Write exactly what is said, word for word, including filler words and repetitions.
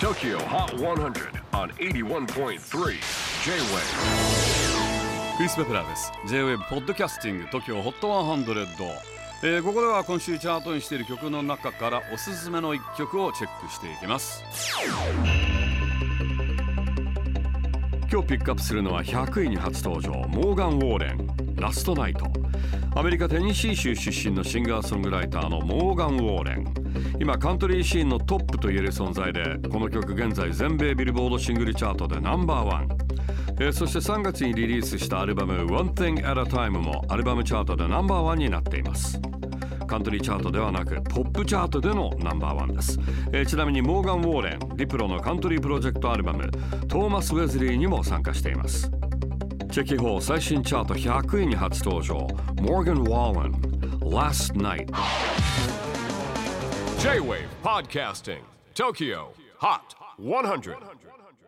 Tokyo Hot one hundred on エイティワンポイントスリー J-Wave。 クリス・ペプラーです。 J-Wave ポッドキャスティング TOKYO ホットハンドレッド、えー、ここでは今週チャートにしている曲の中からおすすめのいっきょくをチェックしていきます。今日ピックアップするのはひゃくいに初登場、モーガン・ウォーレン、ラストナイト。アメリカテネシー州出身のシンガーソングライターのモーガン・ウォーレン、今カントリーシーンのトップと言える存在で、この曲現在全米ビルボードシングルチャートでナンバーワン、えー、そしてさんがつにリリースしたアルバム One Thing at a Time もアルバムチャートでナンバーワンになっています。カントリーチャートではなくポップチャートでのナンバーワンです、えー、ちなみにモーガン・ウォーレン、ディプロのカントリープロジェクトアルバムトーマス・ウェズリーにも参加しています。チェキホー最新チャートひゃくいに初登場、モーガン・ウォーレン、Last Night。 J-Wave Podcasting Tokyo Hot one hundred。